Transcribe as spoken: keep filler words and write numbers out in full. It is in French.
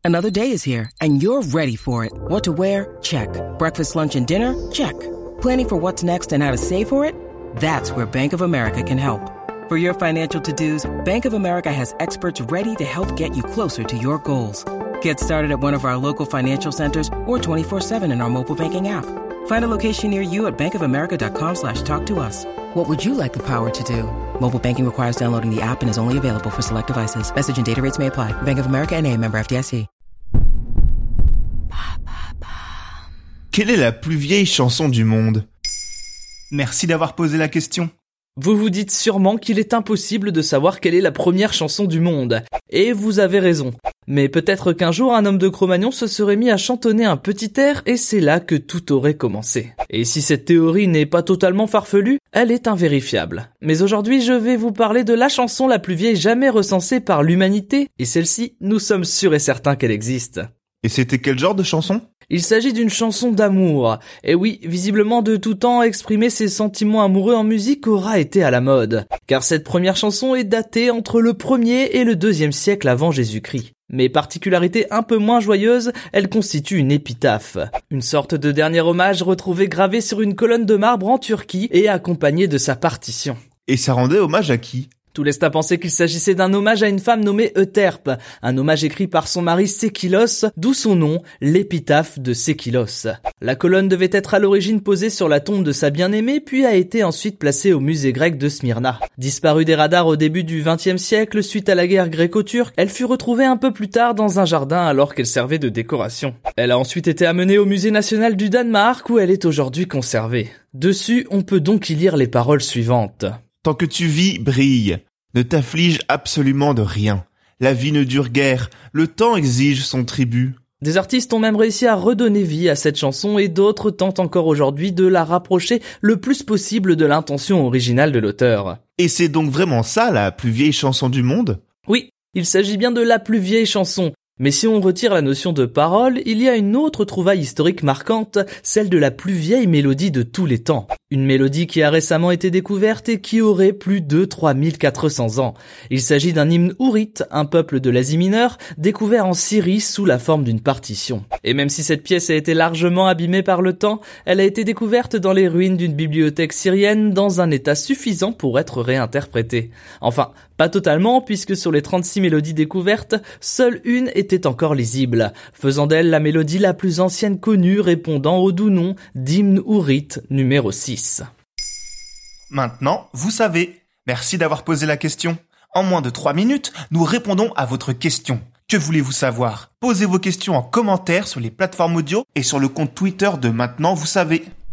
Another day is here, and you're ready for it. What to wear? Check. Breakfast, lunch, and dinner? Check. Planning for what's next and how to save for it? That's where Bank of America can help. For your financial to-dos, Bank of America has experts ready to help get you closer to your goals. Get started at one of our local financial centers or twenty-four seven in our mobile banking app. Find a location near you at bankofamerica.com slash talk to us. What would you like the power to do? Mobile banking requires downloading the app and is only available for select devices. Message and data rates may apply. Bank of America N A, member F D I C. Quelle est la plus vieille chanson du monde ? Merci d'avoir posé la question. Vous vous dites sûrement qu'il est impossible de savoir quelle est la première chanson du monde. Et vous avez raison. Mais peut-être qu'un jour un homme de Cro-Magnon se serait mis à chantonner un petit air et c'est là que tout aurait commencé. Et si cette théorie n'est pas totalement farfelue, elle est invérifiable. Mais aujourd'hui je vais vous parler de la chanson la plus vieille jamais recensée par l'humanité, et celle-ci, nous sommes sûrs et certains qu'elle existe. Et c'était quel genre de chanson ? Il s'agit d'une chanson d'amour. Et oui, visiblement de tout temps, exprimer ses sentiments amoureux en musique aura été à la mode. Car cette première chanson est datée entre le premier et le deuxième siècle avant Jésus-Christ. Mais particularité un peu moins joyeuse, elle constitue une épitaphe. Une sorte de dernier hommage retrouvé gravé sur une colonne de marbre en Turquie et accompagné de sa partition. Et ça rendait hommage à qui ? Tout laisse à penser qu'il s'agissait d'un hommage à une femme nommée Euterpe, un hommage écrit par son mari Sékilos, d'où son nom, l'épitaphe de Sékilos. La colonne devait être à l'origine posée sur la tombe de sa bien-aimée, puis a été ensuite placée au musée grec de Smyrna. Disparue des radars au début du vingtième siècle suite à la guerre gréco-turque, elle fut retrouvée un peu plus tard dans un jardin alors qu'elle servait de décoration. Elle a ensuite été amenée au musée national du Danemark où elle est aujourd'hui conservée. Dessus, on peut donc y lire les paroles suivantes. Tant que tu vis, brille. Ne t'afflige absolument de rien. La vie ne dure guère. Le temps exige son tribut. Des artistes ont même réussi à redonner vie à cette chanson et d'autres tentent encore aujourd'hui de la rapprocher le plus possible de l'intention originale de l'auteur. Et c'est donc vraiment ça la plus vieille chanson du monde ? Oui, il s'agit bien de la plus vieille chanson. Mais si on retire la notion de parole, il y a une autre trouvaille historique marquante, celle de la plus vieille mélodie de tous les temps. Une mélodie qui a récemment été découverte et qui aurait plus de trois mille quatre cents ans. Il s'agit d'un hymne ourite, un peuple de l'Asie mineure, découvert en Syrie sous la forme d'une partition. Et même si cette pièce a été largement abîmée par le temps, elle a été découverte dans les ruines d'une bibliothèque syrienne dans un état suffisant pour être réinterprétée. Enfin, pas totalement, puisque sur les trente-six mélodies découvertes, seule une était encore lisible, faisant d'elle la mélodie la plus ancienne connue répondant au doux nom d'hymne ourite numéro six. Maintenant, vous savez. Merci d'avoir posé la question. En moins de trois minutes, nous répondons à votre question. Que voulez-vous savoir ? Posez vos questions en commentaire sur les plateformes audio et sur le compte Twitter de Maintenant, vous savez.